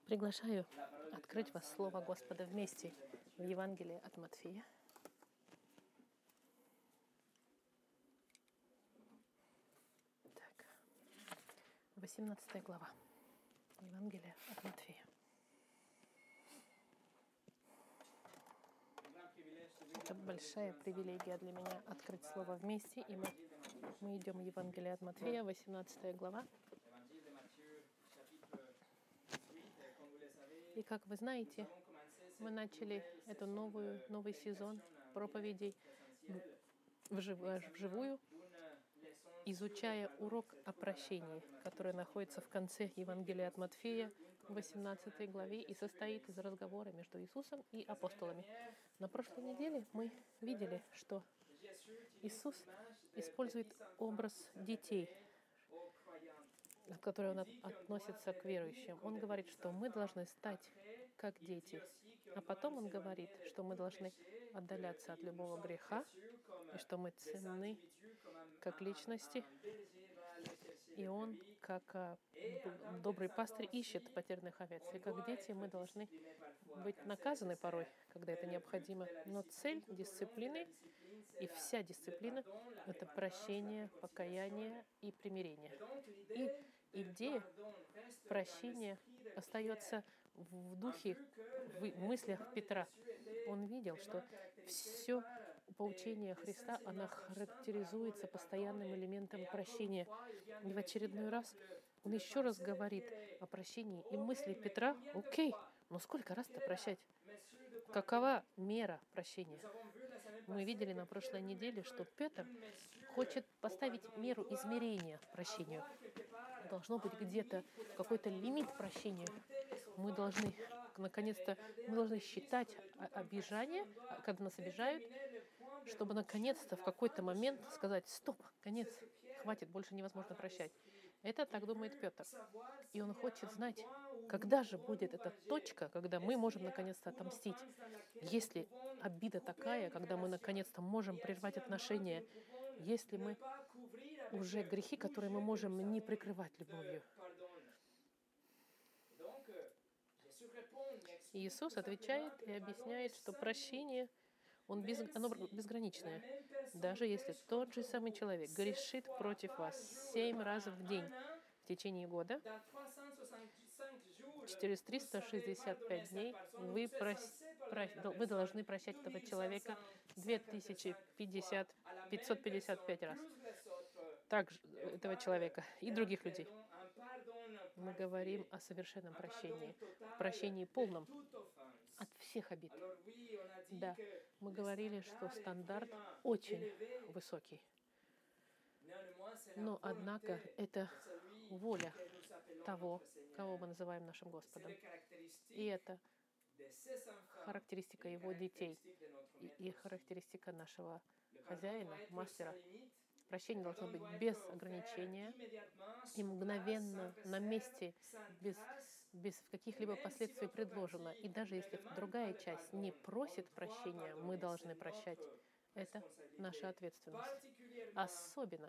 Приглашаю открыть вас Слово Господа вместе в Евангелии от Матфея. Так, 18 глава Евангелия от Матфея. Это большая привилегия для меня открыть Слово вместе, и мы идем в Евангелие от Матфея, 18 глава. И как вы знаете, мы начали эту новый сезон проповедей вживую, изучая урок о прощении, который находится в конце Евангелия от Матфея, 18 главе, и состоит из разговора между Иисусом и апостолами. На прошлой неделе мы видели, что Иисус использует образ детей, к которым он относится к верующим. Он говорит, что мы должны стать как дети. А потом он говорит, что мы должны отдаляться от любого греха, и что мы ценны как личности. И он, как добрый пастырь, ищет потерянных овец. И как дети мы должны быть наказаны порой, когда это необходимо. Но цель дисциплины и вся дисциплина — это прощение, покаяние и примирение. И идея прощения остается в духе, в мыслях Петра. Он видел, что все поучение Христа, оно характеризуется постоянным элементом прощения. И в очередной раз он еще раз говорит о прощении. И мысли Петра: окей, но сколько раз-то прощать? Какова мера прощения? Мы видели на прошлой неделе, что Петр хочет поставить меру измерения прощению. Должно быть где-то какой-то лимит прощения. Мы должны, наконец-то, считать обижание, когда нас обижают, чтобы наконец-то в какой-то момент сказать: стоп, конец, хватит, больше невозможно прощать. Это так думает Петр. И он хочет знать, когда же будет эта точка, когда мы можем наконец-то отомстить. Если обида такая, когда мы наконец-то можем прервать отношения, если мы уже грехи, которые мы можем не прикрывать любовью. Иисус отвечает и объясняет, что прощение, оно безграничное. Даже если тот же самый человек грешит против вас 7 раз в день в течение года, через 365 дней вы должны прощать этого человека 555 раз. Также этого человека и других людей. Мы говорим о совершенном прощении, прощении полном от всех обид. Да, мы говорили, что стандарт очень высокий. Но, однако, это воля того, кого мы называем нашим Господом. И это характеристика его детей и характеристика нашего хозяина, мастера. Прощение должно быть без ограничения и мгновенно, на месте, без каких-либо последствий предложено. И даже если другая часть не просит прощения, мы должны прощать. Это наша ответственность. Особенно,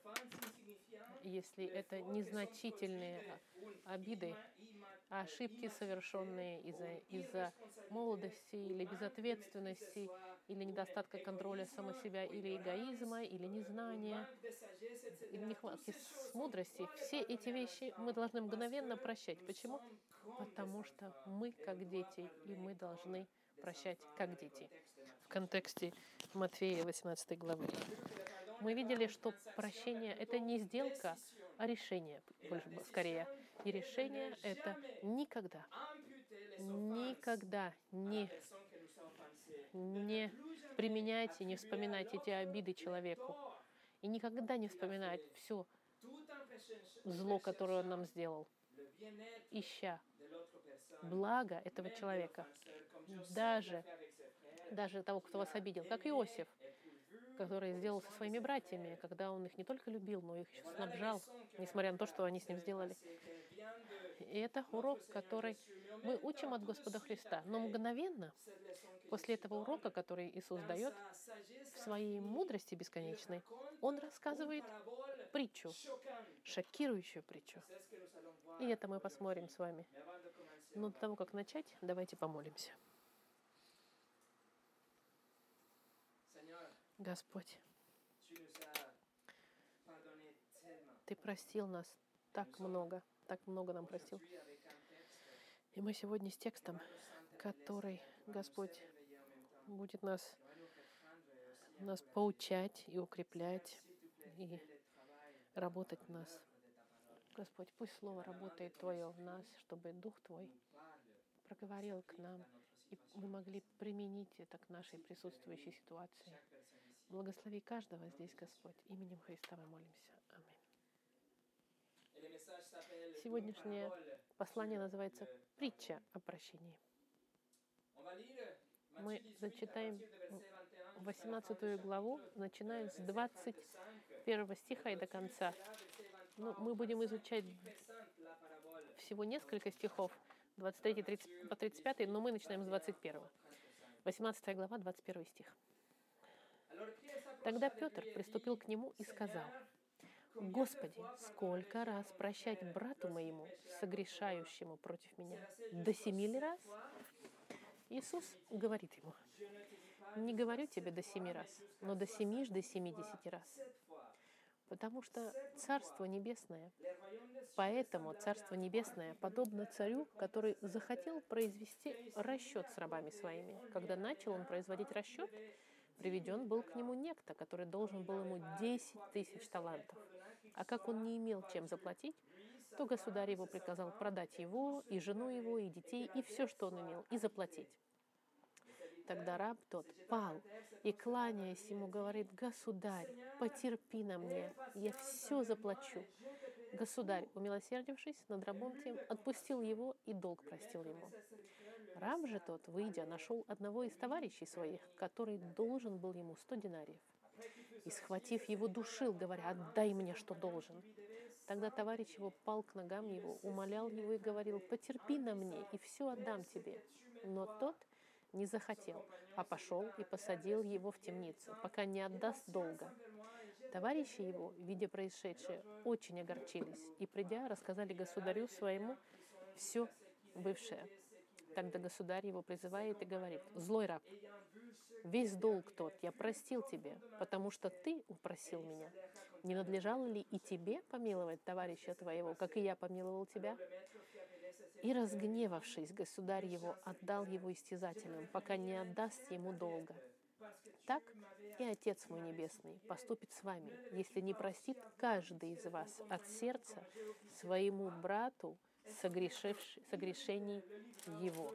если это незначительные обиды, ошибки, совершенные из-за молодости или безответственности, или недостатка контроля самого себя, или эгоизма, или незнания, или нехватки мудрости. Все эти вещи мы должны мгновенно прощать. Почему? Потому что мы как дети, и мы должны прощать как дети. В контексте Матфея 18 главы. Мы видели, что прощение — это не сделка, а решение, скорее. И решение — это никогда не применяйте, не вспоминайте эти обиды человеку. И никогда не вспоминать все зло, которое он нам сделал, ища благо этого человека, даже того, кто вас обидел, как Иосиф, который сделал со своими братьями, когда он их не только любил, но их еще снабжал, несмотря на то, что они с ним сделали. И это урок, который мы учим от Господа Христа. Но мгновенно, после этого урока, который Иисус дает, в своей мудрости бесконечной, Он рассказывает притчу, шокирующую притчу. И это мы посмотрим с вами. Но до того, как начать, давайте помолимся. Господь, Ты простил нас так много нам простил. И мы сегодня с текстом, который, Господь, будет нас поучать и укреплять, и работать в нас. Господь, пусть Слово работает Твое в нас, чтобы Дух Твой проговорил к нам, и мы могли применить это к нашей присутствующей ситуации. Благослови каждого здесь, Господь. Именем Христа мы молимся. Аминь. Сегодняшнее послание называется «Притча о прощении». Мы зачитаем 18 главу, начиная с 21 стиха и до конца. Ну, мы будем изучать всего несколько стихов, 23 по 35, но мы начинаем с 21. 18 глава, 21 стих. Тогда Петр приступил к нему и сказал: «Господи, сколько раз прощать брату моему, согрешающему против меня? До 7 раз?» Иисус говорит ему: «Не говорю тебе до 7 раз, но до 70 раз. Потому что Царство Небесное, поэтому Царство Небесное подобно царю, который захотел произвести расчет с рабами своими. Когда начал он производить расчет, приведен был к нему некто, который должен был ему 10 000 талантов. А как он не имел чем заплатить, то государь его приказал продать его, и жену его, и детей, и все, что он имел, и заплатить. Тогда раб тот пал и, кланяясь ему, говорит: «Государь, потерпи на мне, я все заплачу». Государь, умилосердившись над рабом тем, отпустил его и долг простил ему. Раб же тот, выйдя, нашел одного из товарищей своих, который должен был ему 100 динариев. И, схватив его, душил, говоря: «Отдай мне, что должен». Тогда товарищ его пал к ногам его, умолял его и говорил: «Потерпи на мне, и все отдам тебе». Но тот не захотел, а пошел и посадил его в темницу, пока не отдаст долга. Товарищи его, видя происшедшее, очень огорчились и, придя, рассказали государю своему все бывшее. Тогда государь его призывает и говорит: «Злой раб, весь долг тот я простил тебе, потому что ты упросил меня. Не надлежало ли и тебе помиловать товарища твоего, как и я помиловал тебя?» И, разгневавшись, государь его отдал его истязателям, пока не отдаст ему долга. Так и Отец мой Небесный поступит с вами, если не простит каждый из вас от сердца своему брату согрешений его.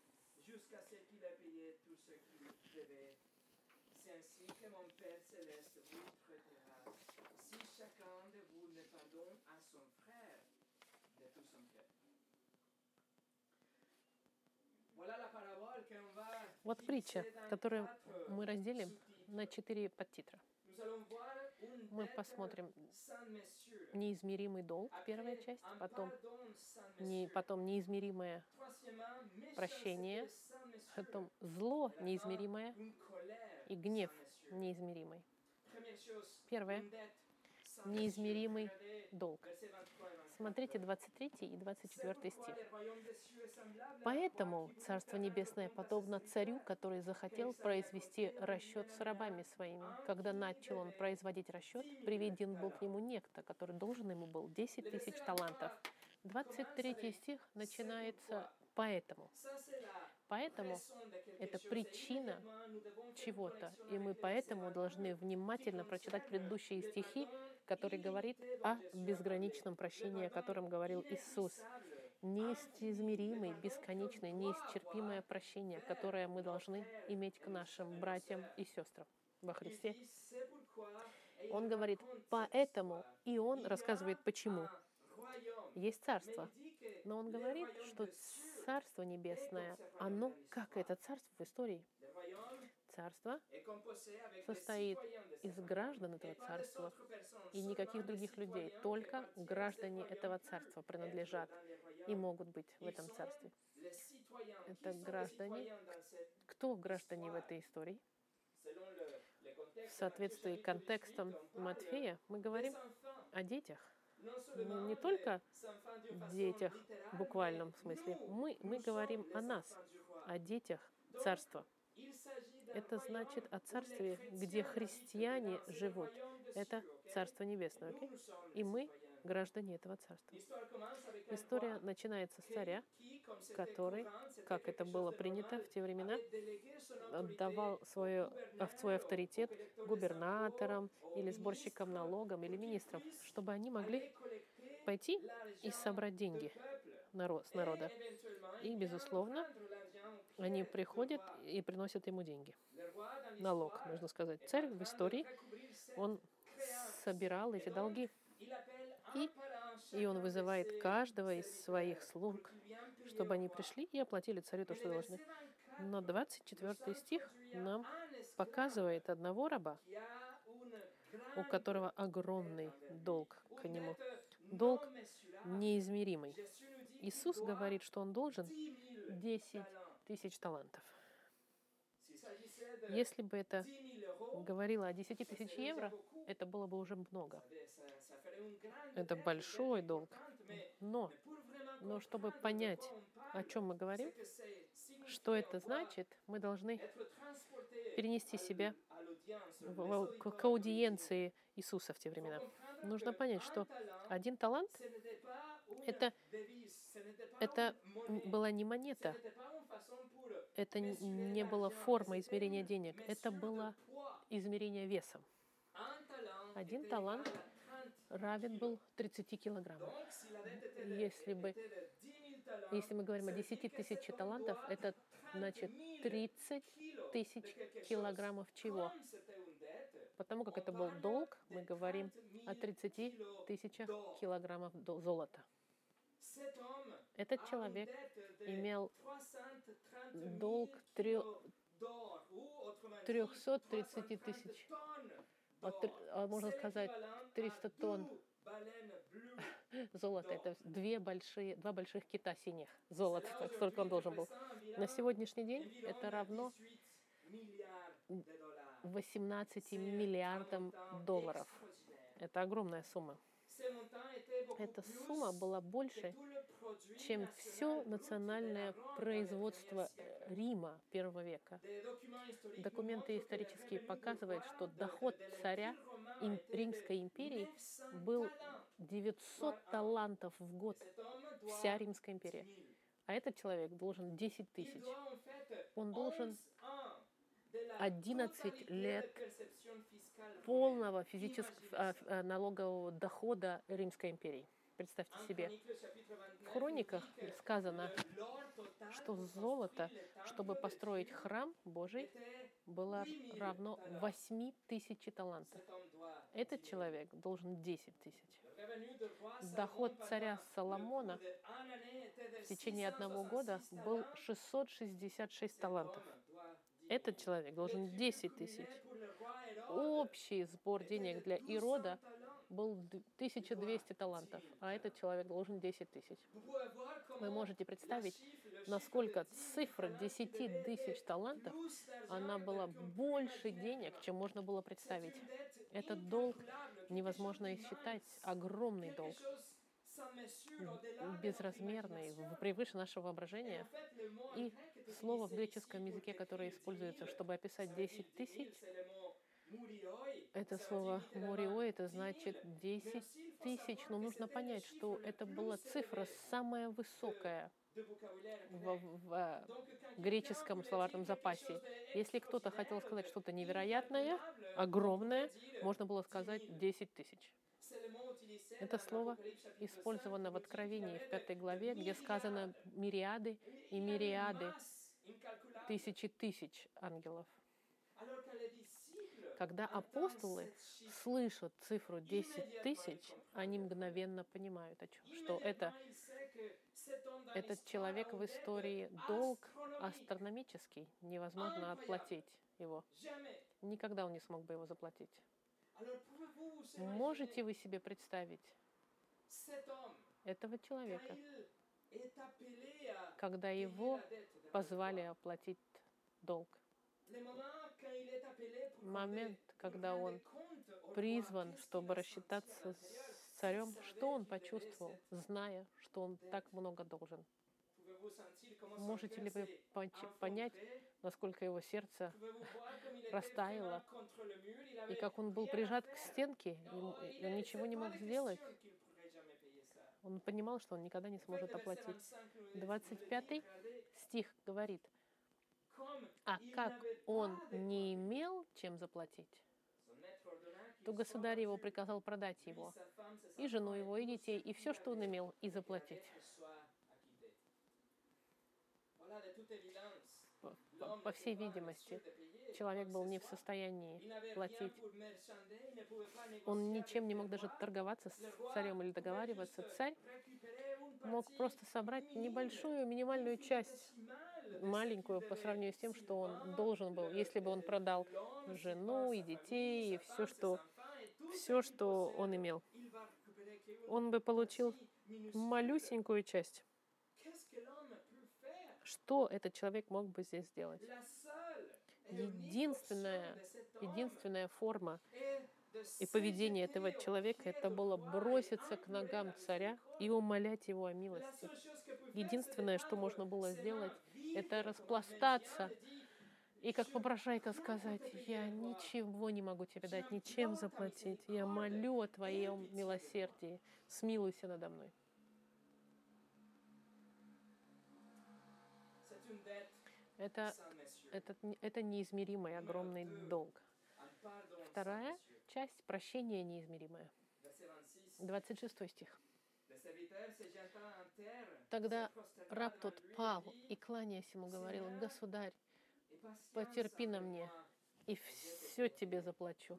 Вот притча, которую мы разделим на 4 подтитра. Мы посмотрим неизмеримый долг, первая часть, потом неизмеримое прощение, потом зло неизмеримое и гнев неизмеримый. Первое — неизмеримый долг. Смотрите 23 и 24 стих. «Поэтому Царство Небесное подобно царю, который захотел произвести расчет с рабами своими. Когда начал он производить расчет, приведен был к нему некто, который должен ему был 10 000 талантов». 23 стих начинается «поэтому». Поэтому это причина чего-то, и мы поэтому должны внимательно прочитать предыдущие стихи, которые говорят о безграничном прощении, о котором говорил Иисус. Неизмеримый, бесконечный, неисчерпимое прощение, которое мы должны иметь к нашим братьям и сестрам во Христе. Он говорит «поэтому», и он рассказывает «почему». Есть царство, но он говорит, что Царство Небесное, оно как это царство в истории. Царство состоит из граждан этого царства и никаких других людей. Только граждане этого царства принадлежат и могут быть в этом царстве. Это граждане. Кто граждане в этой истории? в соответствии с контекстом Матфея, мы говорим о детях. Мы не только детях в буквальном смысле. Мы говорим о нас, о детях царства. Это значит о царстве, где христиане живут. Это Царство Небесное. Okay? И мы граждане этого царства. История начинается с царя, который, как это было принято в те времена, отдавал свой авторитет губернаторам или сборщикам налогов или министрам, чтобы они могли пойти и собрать деньги с народа. И, безусловно, они приходят и приносят ему деньги. Налог, можно сказать. Царь в истории, он собирал эти долги. И он вызывает каждого из своих слуг, чтобы они пришли и оплатили царю то, что должны. Но 24 стих нам показывает одного раба, у которого огромный долг к нему. Долг неизмеримый. Иисус говорит, что он должен 10 тысяч талантов. Если бы это говорило о 10 тысяч евро, это было бы уже много. Это большой долг. Но чтобы понять, о чем мы говорим, что это значит, мы должны перенести себя к аудиенции Иисуса в те времена. Нужно понять, что один талант — это была не монета, это не была форма измерения денег, это было измерение весом. Один талант равен был 30 килограммам. Если мы говорим о 10 тысяч талантов, это значит 30 тысяч килограммов чего? Потому как это был долг, мы говорим о 30 тысячах килограммов золота. Этот человек имел долг 330 тысяч, можно сказать, 300 тонн золота. Это два больших кита синих золота, так столько он должен был. На сегодняшний день это равно 18 миллиардам долларов. Это огромная сумма. Эта сумма была больше, чем все национальное производство Рима первого века. Документы исторические показывают, что доход царя Римской империи был 900 талантов в год. Вся Римская империя. А этот человек должен 10 тысяч. Он должен 11 лет полного физического налогового дохода Римской империи. Представьте себе. В хрониках сказано, что золото, чтобы построить храм Божий, было равно 8 тысяч талантов. Этот человек должен 10 тысяч. Доход царя Соломона в течение одного года был 666 талантов. Этот человек должен 10 тысяч. Общий сбор денег для Ирода был 1200 талантов, а этот человек должен 10 тысяч. Вы можете представить, насколько цифра 10 тысяч талантов, она была больше денег, чем можно было представить. Этот долг невозможно и считать, огромный долг, безразмерный, превыше нашего воображения. И слово в греческом языке, которое используется, чтобы описать 10 тысяч, это слово «мориой», это значит 10 тысяч. Но нужно понять, что это была цифра самая высокая в греческом словарном запасе. Если кто-то хотел сказать что-то невероятное, огромное, можно было сказать 10 тысяч. Это слово использовано в Откровении, в 5 главе, где сказано «мириады и мириады, тысячи тысяч ангелов». Когда апостолы слышат цифру 10 тысяч, они мгновенно понимают, что этот человек в истории долг астрономический, невозможно отплатить его. Никогда он не смог бы его заплатить. Можете вы себе представить этого человека, когда его позвали оплатить долг? Момент, когда он призван, чтобы рассчитаться с царем, что он почувствовал, зная, что он так много должен? Можете ли вы понять, насколько его сердце растаяло, и как он был прижат к стенке, и он ничего не мог сделать? Он понимал, что он никогда не сможет оплатить. 25 стих говорит, а как он не имел чем заплатить, то государь его приказал продать его, и жену его, и детей, и все, что он имел, и заплатить. По всей видимости, человек был не в состоянии платить. Он ничем не мог даже торговаться с царем или договариваться. Царь мог просто собрать небольшую минимальную часть, маленькую по сравнению с тем, что он должен был, если бы он продал жену и детей, и все, что он имел. Он бы получил малюсенькую часть. Что этот человек мог бы здесь сделать? Единственная форма и поведение этого человека — это было броситься к ногам царя и умолять его о милости. Единственное, что можно было сделать, это распластаться и как попрошайка сказать: «Я ничего не могу тебе дать, ничем заплатить. Я молю о твоем милосердии. Смилуйся надо мной». Это неизмеримый огромный долг. Вторая часть — прощение неизмеримое. 26 стих. Тогда раб тот пал и, кланяясь ему, говорил: «Государь, потерпи на мне, и все тебе заплачу».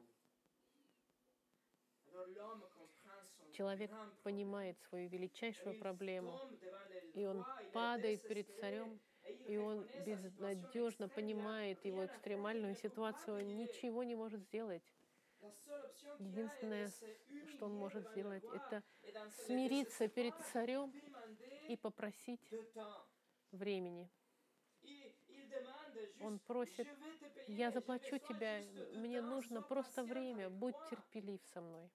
Человек понимает свою величайшую проблему, и он падает перед царем, и он безнадежно понимает его экстремальную ситуацию, он ничего не может сделать. Единственное, что он может сделать, это смириться перед царем и попросить времени. Он просит: «Я заплачу тебе, мне нужно просто время, будь терпелив со мной».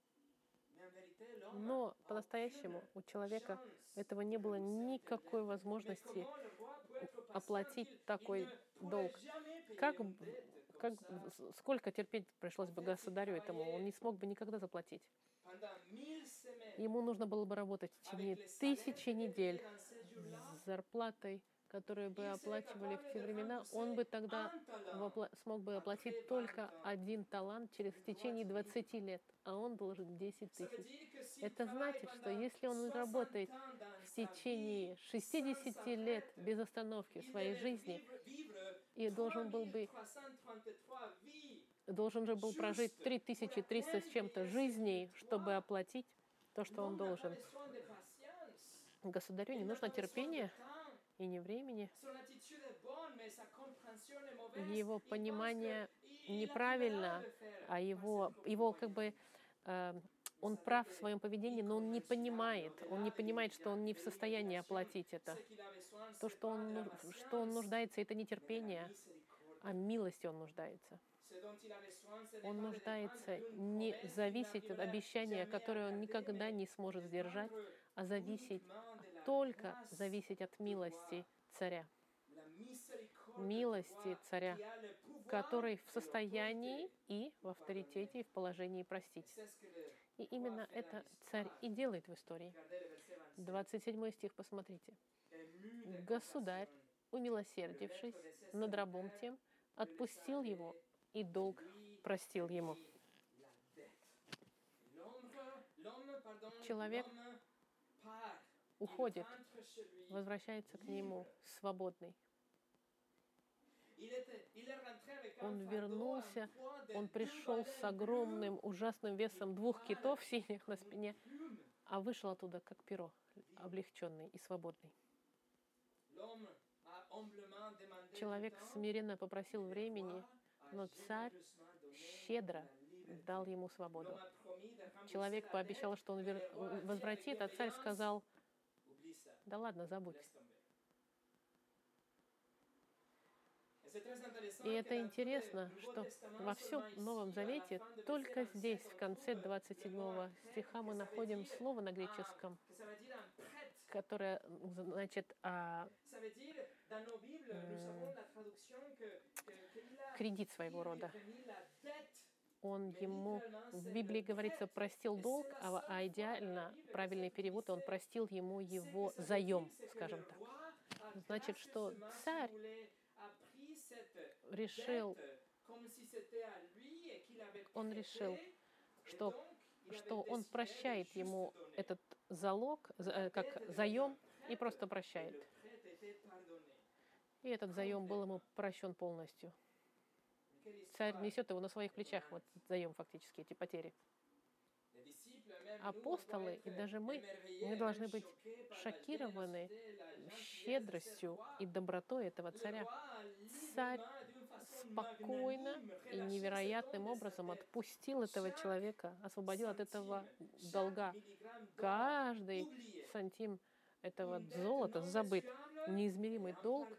Но по-настоящему у человека этого не было никакой возможности оплатить такой долг. Сколько терпеть пришлось бы государю этому, он не смог бы никогда заплатить. Ему нужно было бы работать в течение 1000 недель с зарплатой, которую бы оплачивали в те времена. Он бы тогда смог бы оплатить только 1 талант в течение 20 лет, а он должен 10 000. Это значит, что если он работает в течение 60 лет без остановки своей жизни и должен же был прожить 3300 с чем-то жизней, чтобы оплатить то, что он должен. Государю не нужно терпения и не времени. Его понимание неправильно, а его он прав в своем поведении, но он не понимает, что он не в состоянии оплатить это. То, что он нуждается, это не терпение, а милости он нуждается. Он нуждается не зависеть от обещания, которое он никогда не сможет сдержать, а только зависеть от милости царя. Милости царя, который в состоянии и в авторитете, и в положении простить. И именно это царь и делает в истории. 27 стих, посмотрите. «Государь, умилосердившись над рабом тем, отпустил его, и долг простил ему». Человек уходит, возвращается к нему свободный. Он вернулся, он пришел с огромным, ужасным весом 2 китов синих на спине, а вышел оттуда как перо, облегченный и свободный. Человек смиренно попросил времени, но царь щедро дал ему свободу. Человек пообещал, что он возвратит, а царь сказал: «Да ладно, забудь». И это интересно, что во всем Новом Завете только здесь, в конце 27 стиха, мы находим слово на греческом, которое значит кредит своего рода. Он ему, в Библии говорится, простил долг, а идеально правильный перевод, он простил ему его заем, скажем так. Значит, что царь решил, что он прощает ему этот залог, как заем, и просто прощает. И этот заем был ему прощен полностью. Царь несет его на своих плечах, вот заем фактически, эти потери. Апостолы и даже мы должны быть шокированы щедростью и добротой этого царя. Царь спокойно и невероятным образом отпустил этого человека, освободил от этого долга. Каждый сантим этого золота забыт. Неизмеримый долг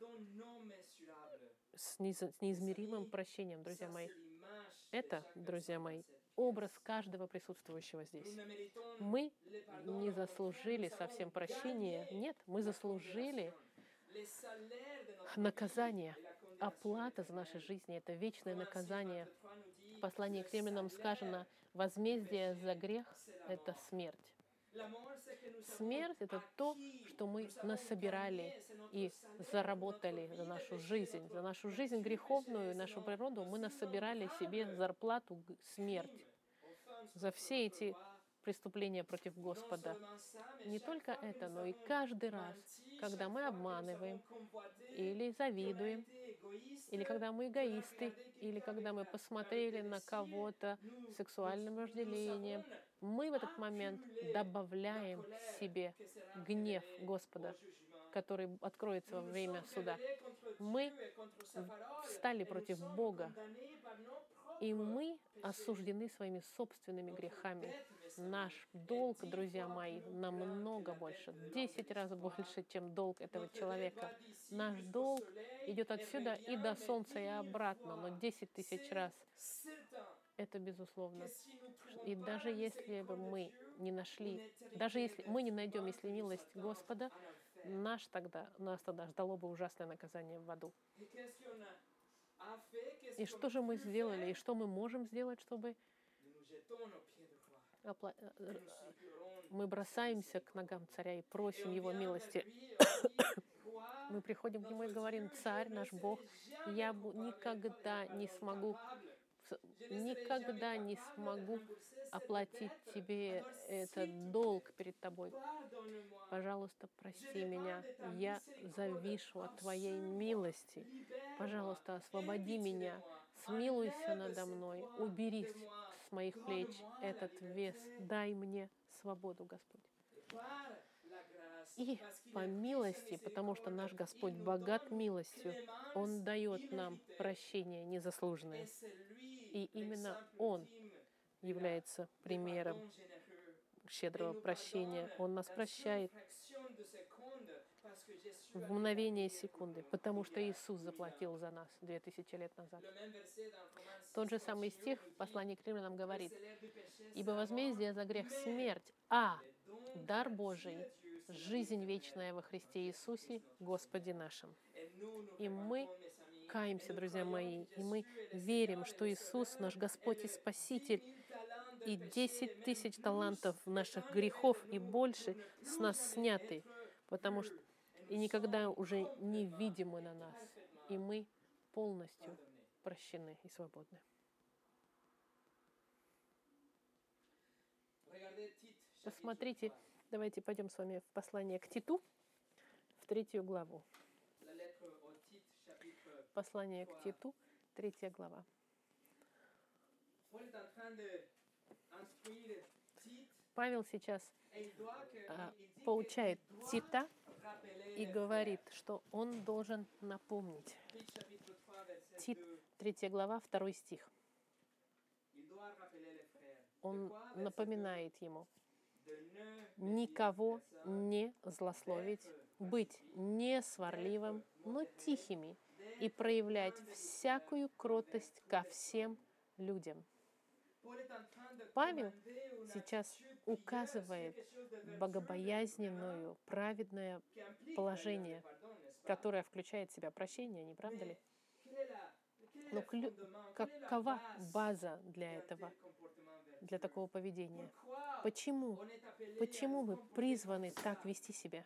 с неизмеримым прощением, друзья мои. Это, друзья мои, образ каждого присутствующего здесь. Мы не заслужили совсем прощения. Нет, мы заслужили наказание. Оплата за наши жизни — это вечное наказание. В послании к Римлянам сказано: возмездие за грех — это смерть. Смерть — это то, что мы насобирали и заработали за нашу жизнь греховную, нашу природу. Мы насобирали себе зарплату смерть за все эти преступления против Господа. Не только это, но и каждый раз, когда мы обманываем или завидуем, или когда мы эгоисты, или когда мы посмотрели на кого-то сексуальным вожделением, мы в этот момент добавляем себе гнев Господа, который откроется во время суда. Мы встали против Бога, и мы осуждены своими собственными грехами. Наш долг, друзья мои, намного больше, 10 раз больше, чем долг этого человека. Наш долг идет отсюда и до солнца, и обратно, но 10 тысяч раз. Это безусловно. И даже если бы мы не нашли, даже если мы не найдем, если милость Господа, нас тогда ждало бы ужасное наказание в аду. И что же мы сделали, и что мы можем сделать, чтобы мы бросаемся к ногам царя и просим его милости. Мы приходим к нему и говорим: царь, наш Бог, я никогда не смогу оплатить тебе этот долг перед тобой. Пожалуйста, прости меня. Я завишу от твоей милости. Пожалуйста, освободи меня. Смилуйся надо мной. Убери с моих плеч этот вес. Дай мне свободу, Господь. И по милости, потому что наш Господь богат милостью, Он дает нам прощение незаслуженное. И именно Он является примером щедрого прощения. Он нас прощает в мгновение секунды, потому что Иисус заплатил за нас 2000 лет назад. Тот же самый стих в послании к Римлянам говорит: «Ибо возмездие за грех — смерть, а дар Божий — жизнь вечная во Христе Иисусе, Господе нашим». И мы каемся, друзья мои, и мы верим, что Иисус, наш Господь и Спаситель, и 10 тысяч талантов наших грехов и больше с нас сняты, потому что и никогда уже не видимы на нас, и мы полностью прощены и свободны. Посмотрите, давайте пойдем с вами в послание к Титу, в 3 главу. Послание к Титу, 3 глава. Павел сейчас поучает Тита и говорит, что он должен напомнить. Тит, 3 глава, 2 стих. Он напоминает ему: никого не злословить, быть не сварливым, но тихими, и проявлять всякую кротость ко всем людям. Павел сейчас указывает богобоязненную, праведное положение, которое включает в себя прощение, не правда ли? Но какова база для этого, для такого поведения? Почему? Почему мы призваны так вести себя?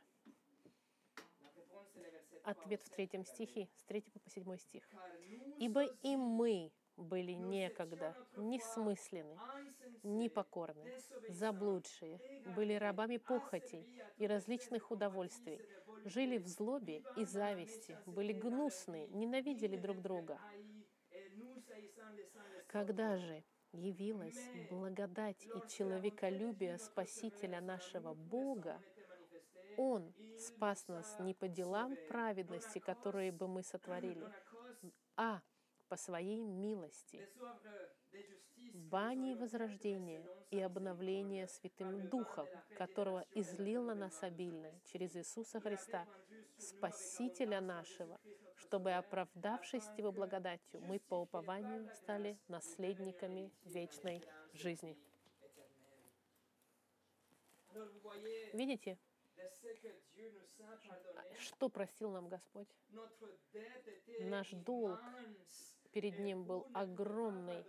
Ответ в 3 стихе, с 3 по 7 стих. «Ибо и мы были некогда несмысленны, непокорны, заблудшие, были рабами похотей и различных удовольствий, жили в злобе и зависти, были гнусны, ненавидели друг друга. Когда же явилась благодать и человеколюбие Спасителя нашего Бога, Он спас нас не по делам праведности, которые бы мы сотворили, а по Своей милости, бани возрождения и обновления Святым Духом, которого излил на нас обильно через Иисуса Христа, Спасителя нашего, чтобы, оправдавшись Его благодатью, мы по упованию стали наследниками вечной жизни». Видите, что простил нам Господь? Наш долг перед Ним был огромный.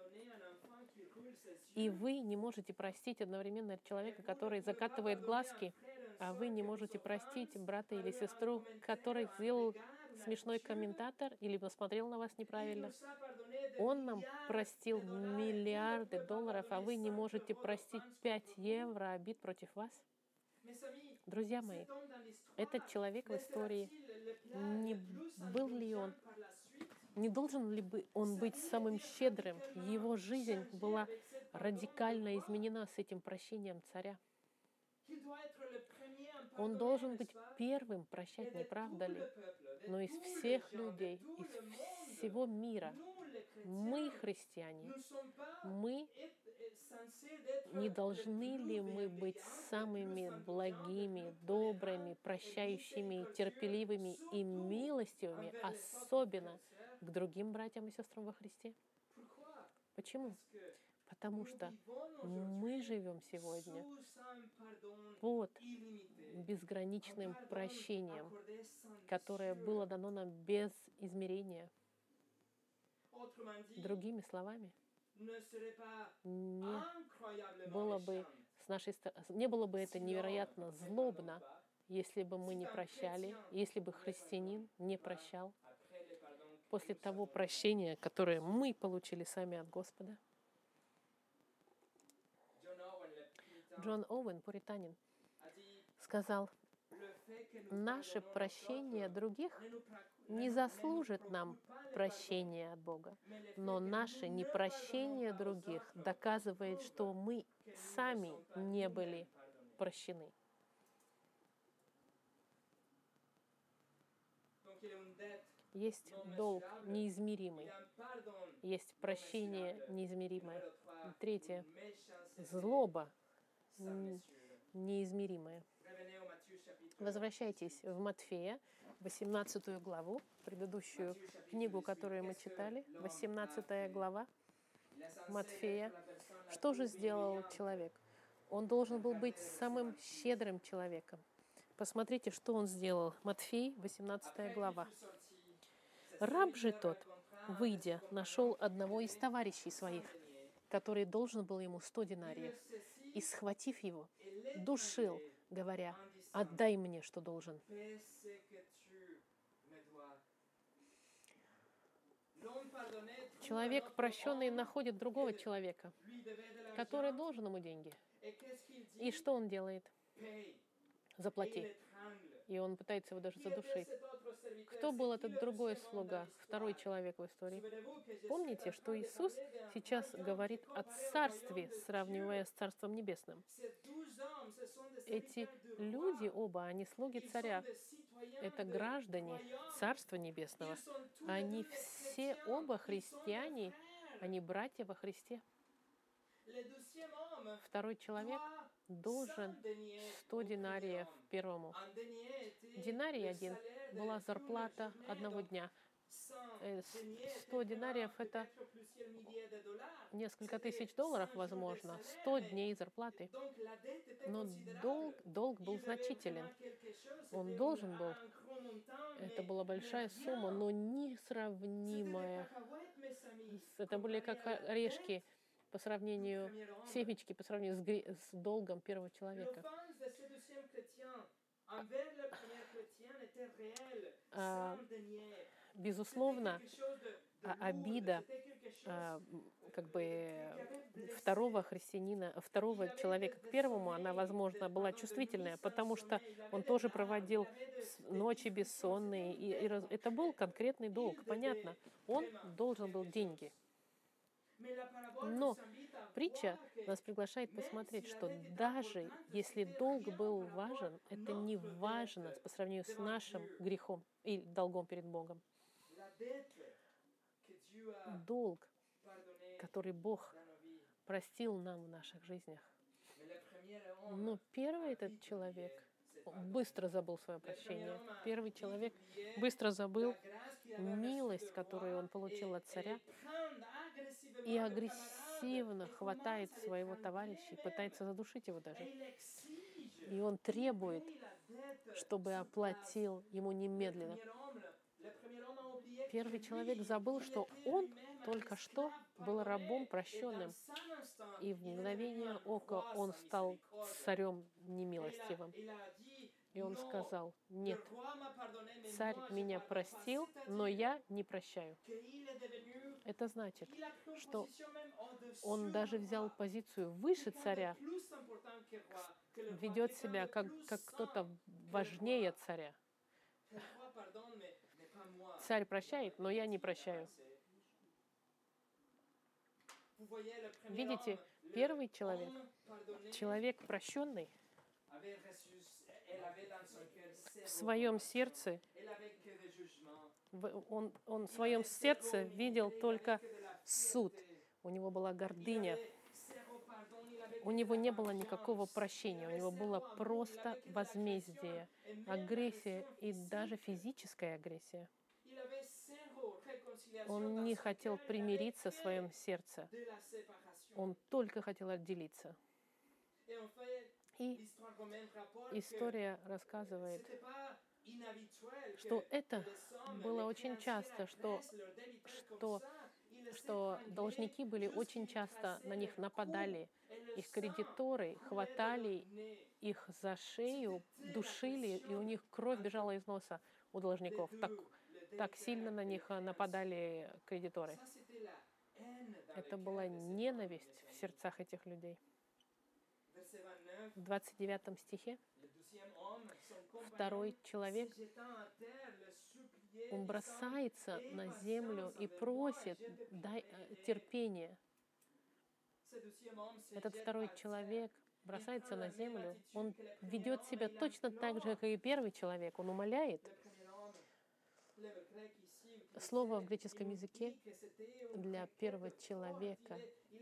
И вы не можете простить одновременно человека, который закатывает глазки, а вы не можете простить брата или сестру, который сделал смешной комментатор или посмотрел на вас неправильно. Он нам простил миллиарды долларов, а вы не можете простить 5 евро обид против вас. Друзья мои, этот человек в истории, не был ли он, не должен ли он быть самым щедрым? Его жизнь была радикально изменена с этим прощением царя. Он должен быть первым прощать, не правда ли? Но из всех людей, из всего мира, мы, христиане, мы не должны ли мы быть самыми благими, добрыми, прощающими, терпеливыми и милостивыми, особенно к другим братьям и сестрам во Христе? Почему? Потому что мы живем сегодня под безграничным прощением, которое было дано нам без измерения. Другими словами, не было бы это невероятно злобно, если бы мы не прощали, если бы христианин не прощал после того прощения, которое мы получили сами от Господа. Джон Оуэн, пуританин, сказал: «Наше прощение других не заслужит нам прощения от Бога, но наше непрощение других доказывает, что мы сами не были прощены». Есть долг неизмеримый, есть прощение неизмеримое. Третье — злоба неизмеримая. Возвращайтесь в Матфея, 18 главу, предыдущую книгу, которую мы читали, 18 глава Матфея. Что же сделал человек? Он должен был быть самым щедрым человеком. Посмотрите, что он сделал. Матфей, 18 глава. «Раб же тот, выйдя, нашел одного из товарищей своих, который должен был ему 100 динариев, и, схватив его, душил, говоря: отдай мне, что должен». Человек прощенный находит другого человека, который должен ему деньги. И что он делает? Заплати. И он пытается его даже задушить. Кто был этот другой слуга, второй человек в истории? Помните, что Иисус сейчас говорит о царстве, сравнивая с Царством Небесным. Эти люди оба, они слуги царя. Это граждане Царства Небесного. Они все оба христиане, они братья во Христе. Второй человек должен 100 динариев первому. Динарий один была зарплата одного дня. 100 динариев — это несколько тысяч долларов, возможно, 100 дней зарплаты. Но долг был значителен. Он должен был. Это была большая сумма, но несравнимая. Это были как орешки по сравнению, семечки по сравнению с долгом первого человека. Безусловно, обида как бы второго христианина, второго человека к первому, она, возможно, была чувствительная, потому что он тоже проводил ночи бессонные, и это был конкретный долг, понятно. Он должен был деньги. Но притча нас приглашает посмотреть, что даже если долг был важен, это не важно по сравнению с нашим грехом и долгом перед Богом. Долг, который Бог простил нам в наших жизнях. Но первый этот человек быстро забыл свое прощение. Первый человек быстро забыл милость, которую он получил от царя, и агрессивно хватает своего товарища и пытается задушить его даже. И он требует, чтобы оплатил ему немедленно. Первый человек забыл, что он только что был рабом прощенным, и в мгновение ока он стал царем немилостивым. И он сказал: нет, царь меня простил, но я не прощаю. Это значит, что он даже взял позицию выше царя, ведет себя как кто-то важнее царя. Царь прощает, но я не прощаю. Видите, первый человек, человек прощенный, в своем сердце, он в своем сердце видел только суд. У него была гордыня. У него не было никакого прощения. У него было просто возмездие, агрессия и даже физическая агрессия. Он не хотел примириться в своем сердце. Он только хотел отделиться. И история рассказывает, что это было очень часто, что должники были очень часто, на них нападали. Их кредиторы хватали их за шею, душили, и у них кровь бежала из носа у должников. Так сильно на них нападали кредиторы. Это была ненависть в сердцах этих людей. В 29 стихе второй человек, он бросается на землю и просит: дай терпение. Этот второй человек бросается на землю, он ведет себя точно так же, как и первый человек, он умоляет. Слово в греческом языке для первого человека,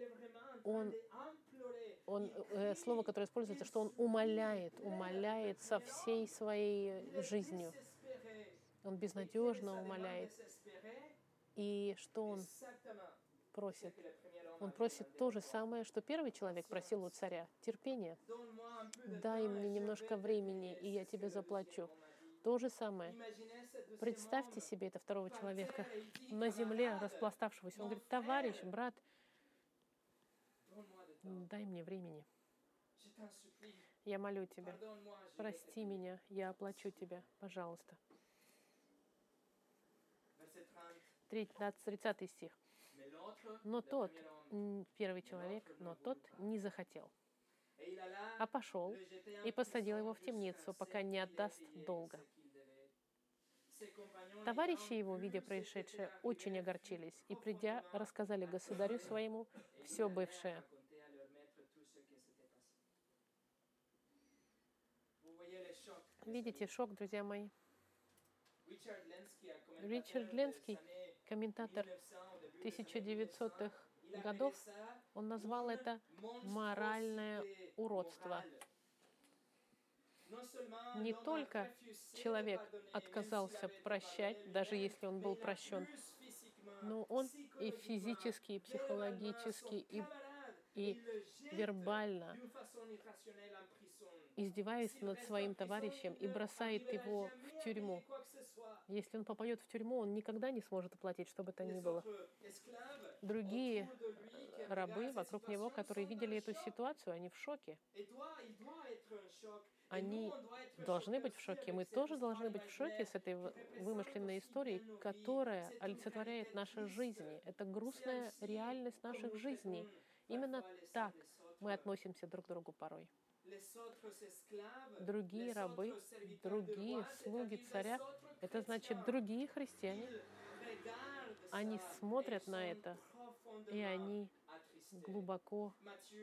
слово, которое используется, что он умоляет со всей своей жизнью. Он безнадежно умоляет. И что он просит? Он просит то же самое, что первый человек просил у царя: терпение. Дай мне немножко времени, и я тебе заплачу. То же самое. Представьте себе это второго человека на земле, распластавшегося. Он говорит: товарищ, брат, дай мне времени. Я молю тебя, прости меня, я оплачу тебя, пожалуйста. 30 стих. Но тот, первый человек, но тот не захотел, а пошел и посадил его в темницу, пока не отдаст долга. Товарищи его, видя происшедшее, очень огорчились и, придя, рассказали государю своему все бывшее. Видите шок, друзья мои? Ричард Ленский, комментатор 1900-х годов, он назвал это моральное уродство. Не только человек отказался прощать, даже если он был прощен, но он и физически, и психологически, и вербально издеваясь над своим товарищем и бросает его в тюрьму. Если он попадет в тюрьму, он никогда не сможет оплатить, что бы то ни было. Другие рабы вокруг него, которые видели эту ситуацию, они в шоке. Они должны быть в шоке. Мы тоже должны быть в шоке с этой вымышленной историей, которая олицетворяет наши жизни. Это грустная реальность наших жизней. Именно так мы относимся друг к другу порой. Другие рабы, другие слуги царя, это значит другие христиане. Они смотрят на это, и они глубоко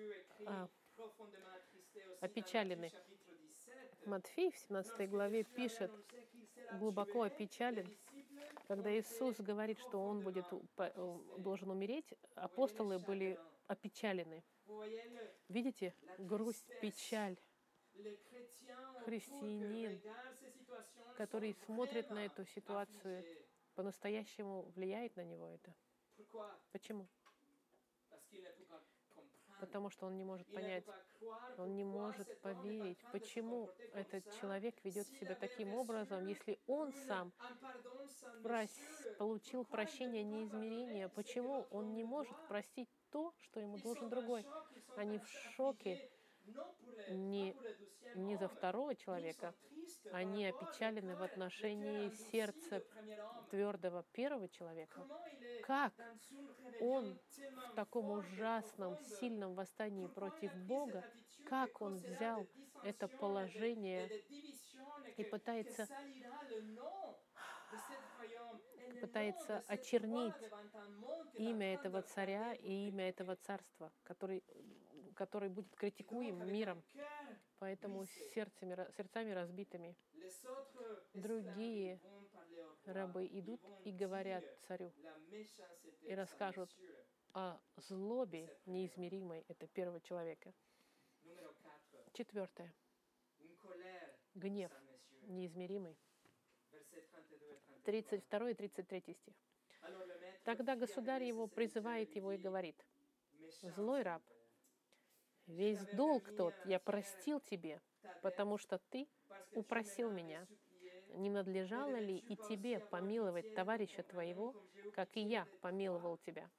опечалены. Матфей в 17 главе пишет, глубоко опечален, когда Иисус говорит, что Он должен умереть, апостолы были опечалены. Видите, грусть, печаль. Христианин, который смотрит на эту ситуацию, по-настоящему влияет на него это. Почему? Потому что он не может понять, он не может поверить, почему этот человек ведет себя таким образом, если он сам получил прощение неизмерения, почему он не может простить то, что ему должен другой. Они в шоке не за второго человека, они опечалены в отношении сердца твердого первого человека. Как он в таком ужасном, сильном восстании против Бога, как он взял это положение и пытается очернить имя этого царя и имя этого царства, который будет критикуем миром, поэтому сердцами разбитыми. Другие рабы идут и говорят царю и расскажут о злобе неизмеримой это первого человека. 4. Гнев неизмеримый. 32 и 33 стих. Тогда государь его призывает его и говорит: «Злой раб, весь долг тот я простил тебе, потому что ты упросил меня. Не надлежало ли и тебе помиловать товарища твоего, как и я помиловал тебя?»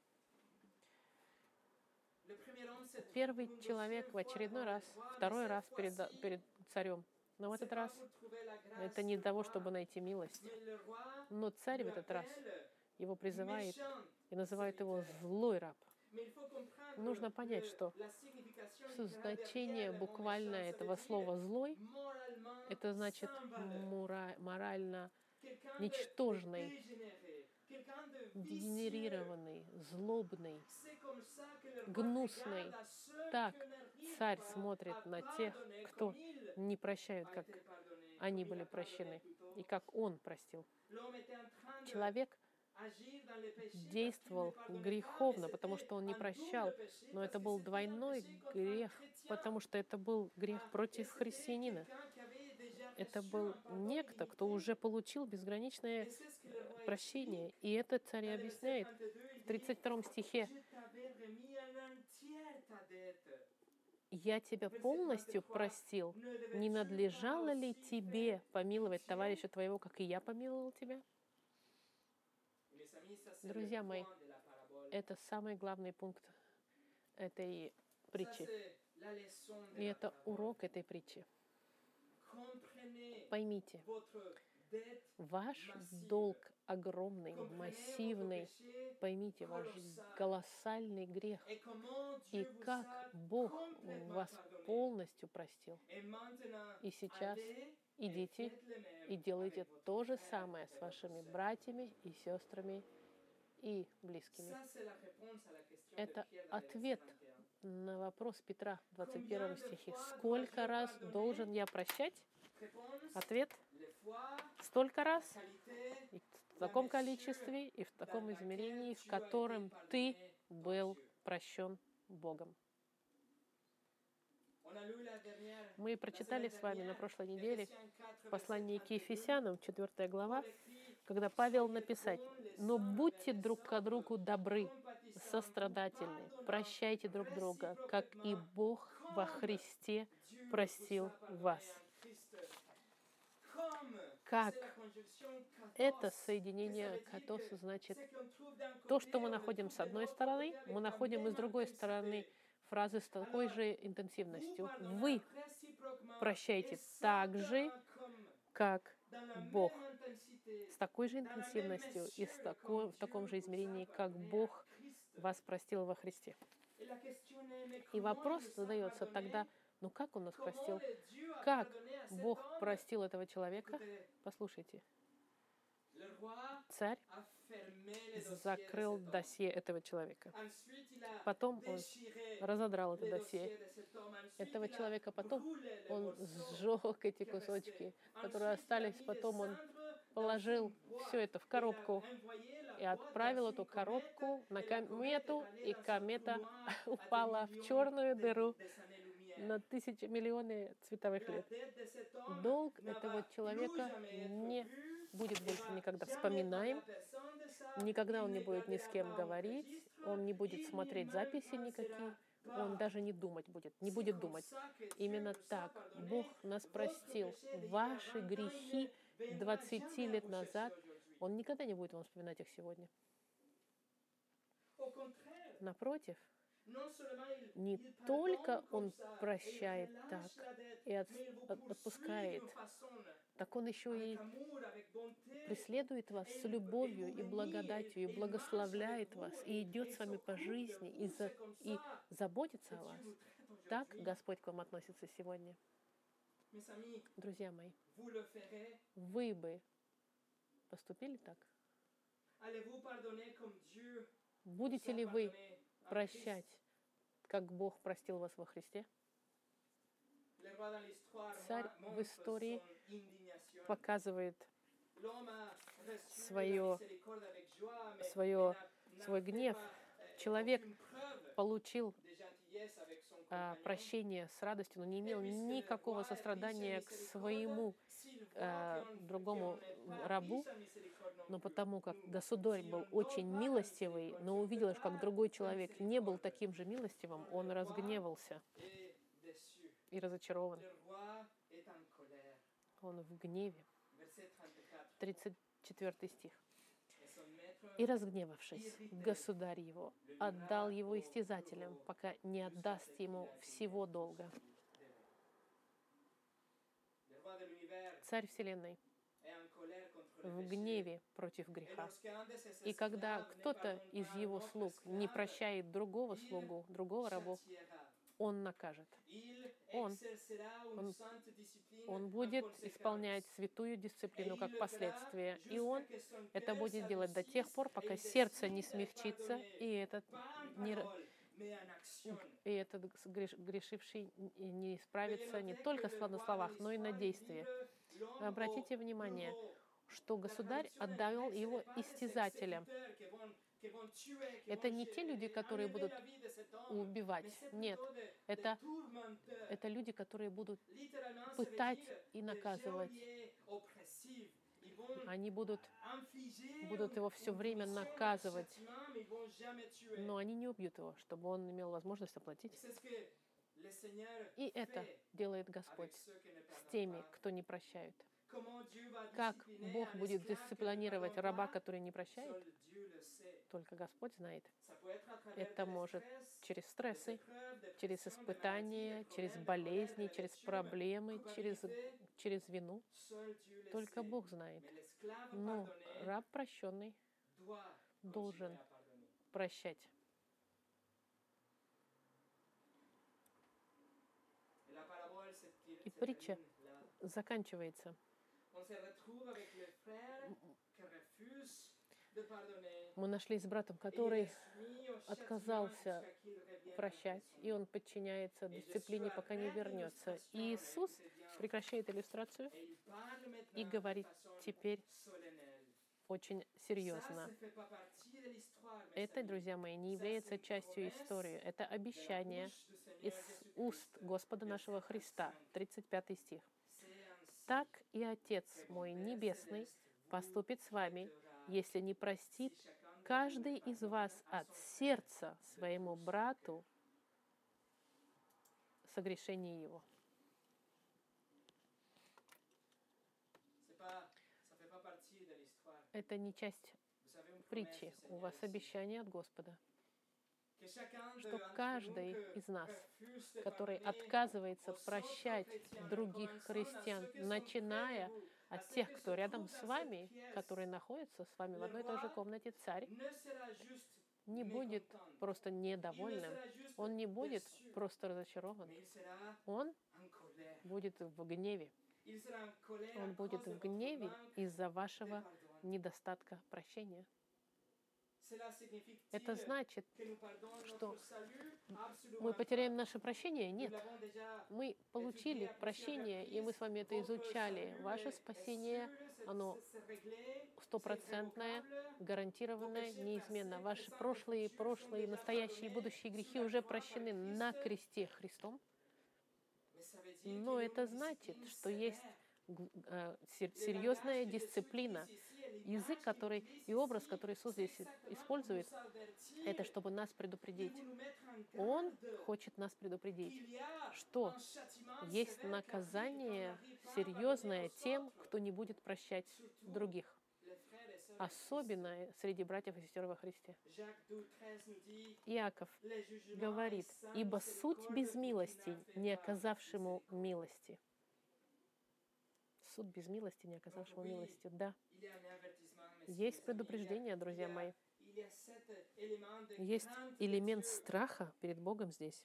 Первый человек в очередной раз, второй раз перед царем. Но в этот раз это не для того, чтобы найти милость. Но царь в этот раз его призывает и называет его «злой раб». Нужно понять, что значение буквальное этого слова «злой» — это значит морально ничтожный, дегенерированный, злобный, гнусный. Так царь смотрит на тех, кто не прощают, как они были прощены, и как он простил. Человек действовал греховно, потому что он не прощал, но это был двойной грех, потому что это был грех против христианина. Это был некто, кто уже получил безграничное прощение. И это царь и объясняет в 32 стихе: «Я тебя полностью простил. Не надлежало ли тебе помиловать товарища твоего, как и я помиловал тебя?» Друзья мои, это самый главный пункт этой притчи. И это урок этой притчи. Поймите, ваш долг огромный, массивный. Поймите, ваш колоссальный грех. И как Бог вас полностью простил. И сейчас идите и делайте то же самое с вашими братьями и сестрами и близкими. Это ответ на вопрос Петра в 21 стихе. Сколько раз должен я прощать? Ответ: столько раз, и в таком количестве, и в таком измерении, в котором ты был прощен Богом. Мы прочитали с вами на прошлой неделе в послании к Ефесянам, 4 глава, когда Павел написать: «Но будьте друг к другу добры, сострадательны, прощайте друг друга, как и Бог во Христе простил вас». Как это соединение катос значит то, что мы находим с одной стороны, мы находим и с другой стороны фразы с такой же интенсивностью. Вы прощаете так же, как Бог. С такой же интенсивностью и в таком же измерении, как Бог вас простил во Христе. И вопрос задается тогда, ну как Он нас простил? Как Бог простил этого человека? Послушайте. Царь закрыл досье этого человека. Потом он разодрал это досье этого человека. Потом он сжег эти кусочки, которые остались. Потом он положил все это в коробку и отправил эту коробку на комету, и комета упала в черную дыру на тысячи, миллионы световых лет. Долг этого человека не будет больше никогда вспоминаем, никогда он не будет ни с кем говорить, он не будет смотреть записи никакие, он даже не думать будет, не будет думать. Именно так Бог нас простил. Ваши грехи 20 лет назад, Он никогда не будет вам вспоминать их сегодня. Напротив, не только Он прощает так и отпускает, так Он еще и преследует вас с любовью и благодатью, и благословляет вас, и идет с вами по жизни, и заботится о вас. Так Господь к вам относится сегодня. Друзья мои, вы бы поступили так? Будете ли вы прощать, как Бог простил вас во Христе? Царь в истории показывает свой гнев. Человек получил прощение с радостью, но не имел никакого сострадания к своему другому рабу, но потому как государь был очень милостивый, но увидел, как другой человек не был таким же милостивым, он разгневался и разочарован. Он в гневе. 34 стих. «И, разгневавшись, государь его отдал его истязателям, пока не отдаст ему всего долга». Царь Вселенной в гневе против греха. И когда кто-то из его слуг не прощает другого слугу, другого рабу, он накажет. Он будет исполнять святую дисциплину как последствие. И он это будет делать до тех пор, пока сердце не смягчится, и этот грешивший не исправится не только на словах, но и на действии. Обратите внимание, что государь отдал его истязателям. Это не те люди, которые будут убивать. Нет, это люди, которые будут пытать и наказывать. Они будут его все время наказывать, но они не убьют его, чтобы он имел возможность оплатить. И это делает Господь с теми, кто не прощает. Как Бог будет дисциплинировать раба, который не прощает, только Господь знает. Это может через стрессы, через испытания, через болезни, через проблемы, через вину. Только Бог знает. Но раб прощенный должен прощать. И притча заканчивается. Мы нашлись с братом, который отказался прощать, и он подчиняется дисциплине, пока не вернется. И Иисус прекращает иллюстрацию и говорит теперь очень серьезно. Это, друзья мои, не является частью истории. Это обещание из уст Господа нашего Христа. 35 стих. «Так и Отец мой Небесный поступит с вами, если не простит каждый из вас от сердца своему брату согрешение его». Это не часть притчи. У вас обещание от Господа, что каждый из нас, который отказывается прощать других христиан, начиная от тех, кто рядом с вами, которые находятся с вами в одной и той же комнате, царь не будет просто недовольным, он не будет просто разочарован, он будет в гневе. Он будет в гневе из-за вашего недостатка прощения. Это значит, что мы потеряем наше прощение? Нет. Мы получили прощение, и мы с вами это изучали. Ваше спасение, оно стопроцентное, гарантированное, неизменно. Ваши прошлые, настоящие и будущие грехи уже прощены на кресте Христом. Но это значит, что есть серьезная дисциплина. Язык, который и образ, который Иисус здесь использует, это чтобы нас предупредить. Он хочет нас предупредить, что есть наказание серьезное тем, кто не будет прощать других. Особенно среди братьев и сестер во Христе. Иаков говорит: «Ибо суть без милости, не оказавшему милости». Суд без милости, не оказавшему милости. Да. Есть предупреждение, друзья мои. Есть элемент страха перед Богом здесь.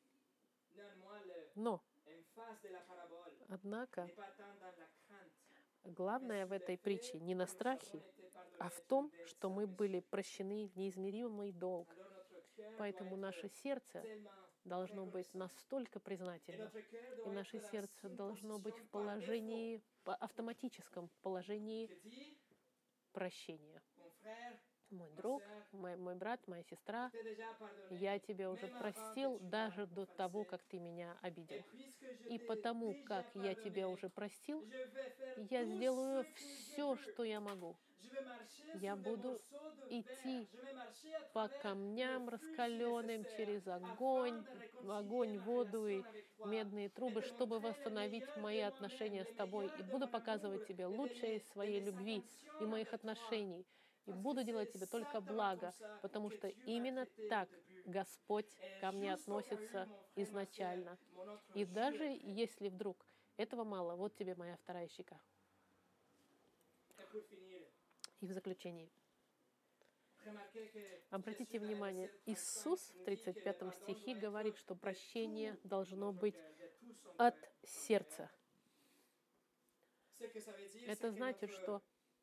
Но, однако, главное в этой притче не на страхе, а в том, что мы были прощены в неизмеримый долг. Поэтому наше сердце должно быть настолько признательным, и наше сердце должно быть в положении, автоматическом положении прощения. Мой друг, мой брат, моя сестра, я тебя уже простил даже до того, как ты меня обидел. И потому, как я тебя уже простил, я сделаю все, что я могу. Я буду идти по камням раскаленным, через огонь, воду и медные трубы, чтобы восстановить мои отношения с тобой. И буду показывать тебе лучшее из своей любви и моих отношений. И буду делать тебе только благо, потому что именно так Господь ко мне относится изначально. И даже если вдруг этого мало, вот тебе моя вторая щека. И в заключении. Обратите внимание, Иисус в 35 стихе говорит, что прощение должно быть от сердца. Это значит, что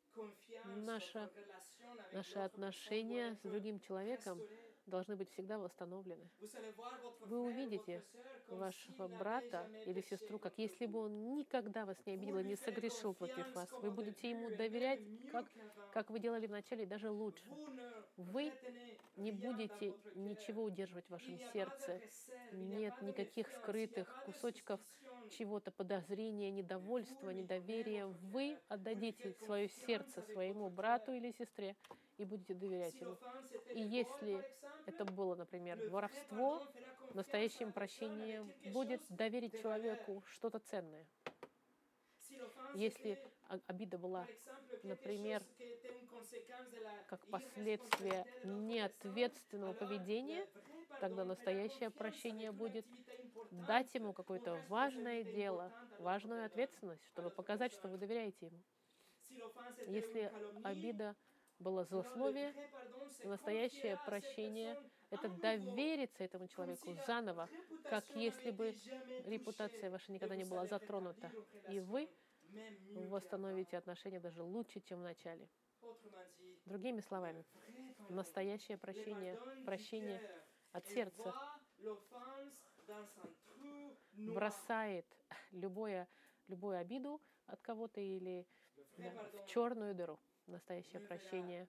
наши отношения с другим человеком должны быть всегда восстановлены. Вы увидите вашего брата или сестру, как если бы он никогда вас не обидел и не согрешил против вас. Вы будете ему доверять, как вы делали вначале, даже лучше. Вы не будете ничего удерживать в вашем сердце. Нет никаких скрытых кусочков чего-то, подозрения, недовольства, недоверия. Вы отдадите свое сердце своему брату или сестре и будете доверять ему. И если это было, например, воровство, настоящим прощением будет доверить человеку что-то ценное. Если обида была, например, как последствие неответственного поведения, тогда настоящее прощение будет дать ему какое-то важное дело, важную ответственность, чтобы показать, что вы доверяете ему. Если обида была злословие, настоящее прощение — это довериться этому человеку заново, как если бы репутация ваша никогда не была затронута, и вы восстановите отношения даже лучше, чем в начале. Другими словами, настоящее прощение от сердца бросает любую обиду от кого-то или в черную дыру. Настоящее прощение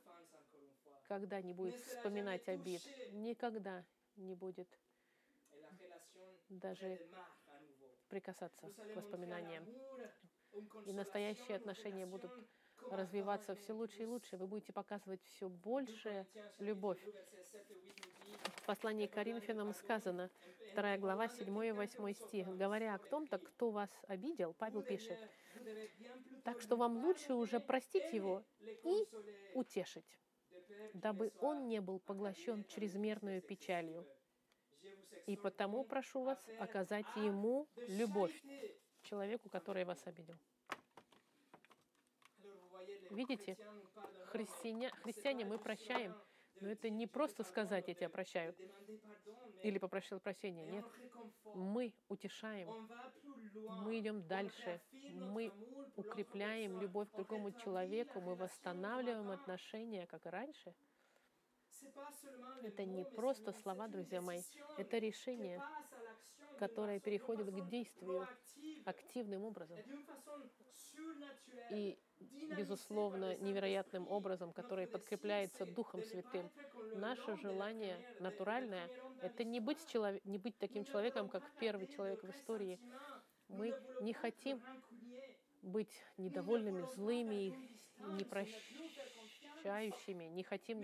никогда не будет вспоминать обид, никогда не будет даже прикасаться к воспоминаниям. И настоящие отношения будут развиваться все лучше и лучше. Вы будете показывать все больше любовь. В послании к Коринфянам сказано, 2 глава, 7 и 8 стих. Говоря о том-то, кто вас обидел, Павел пишет, так что вам лучше уже простить его и утешить, дабы он не был поглощен чрезмерной печалью. И потому прошу вас оказать ему любовь, человеку, который вас обидел. Видите, христиане мы прощаем, но это не просто сказать «я тебя прощаю» или попросил прощения. Нет, мы утешаем, мы идем дальше, мы укрепляем любовь к другому человеку, мы восстанавливаем отношения, как и раньше. Это не просто слова, друзья мои, это решение, которое переходит к действию активным образом. И, безусловно, невероятным образом, который подкрепляется Духом Святым. Наше желание натуральное — это не быть таким человеком, как первый человек в истории. Мы не хотим быть недовольными, злыми, непрощающими, не хотим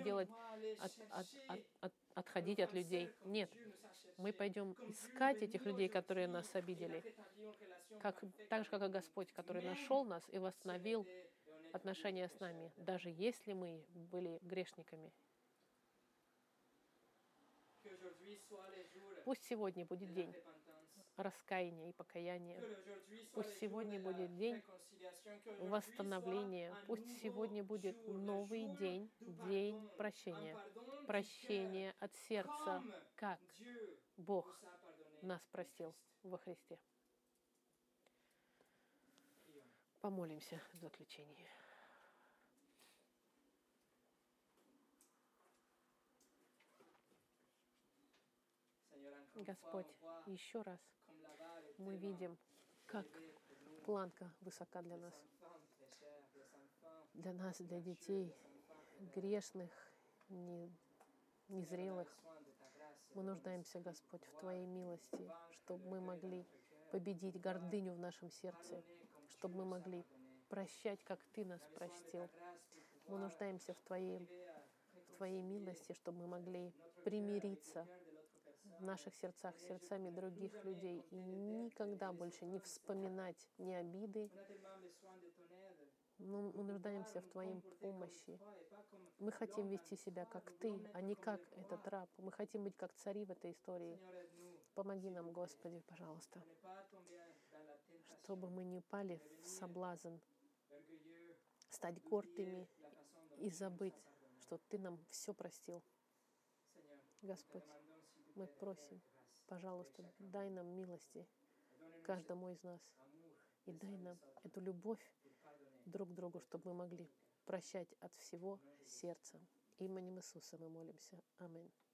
отходить от людей. Нет, мы пойдем искать этих людей, которые нас обидели, так же, как и Господь, который нашел нас и восстановил отношения с нами, даже если мы были грешниками. Пусть сегодня будет день раскаяния и покаяния. Пусть сегодня будет день восстановления. Пусть сегодня будет новый день, день прощения. Прощение от сердца, как Бог нас простил во Христе. Помолимся в заключении. Господь, еще раз мы видим, как планка высока для нас, для детей, грешных, незрелых. Мы нуждаемся, Господь, в Твоей милости, чтобы мы могли победить гордыню в нашем сердце, чтобы мы могли прощать, как Ты нас простил. Мы нуждаемся в Твоей милости, чтобы мы могли примириться в наших сердцах с сердцами других людей и никогда больше не вспоминать ни обиды. Но мы нуждаемся в Твоей помощи. Мы хотим вести себя как Ты, а не как этот раб. Мы хотим быть как цари в этой истории. Помоги нам, Господи, пожалуйста, чтобы мы не упали в соблазн стать гордыми и забыть, что Ты нам все простил. Господь, мы просим, пожалуйста, дай нам милости каждому из нас и дай нам эту любовь друг к другу, чтобы мы могли прощать от всего сердца. Именем Иисуса мы молимся. Аминь.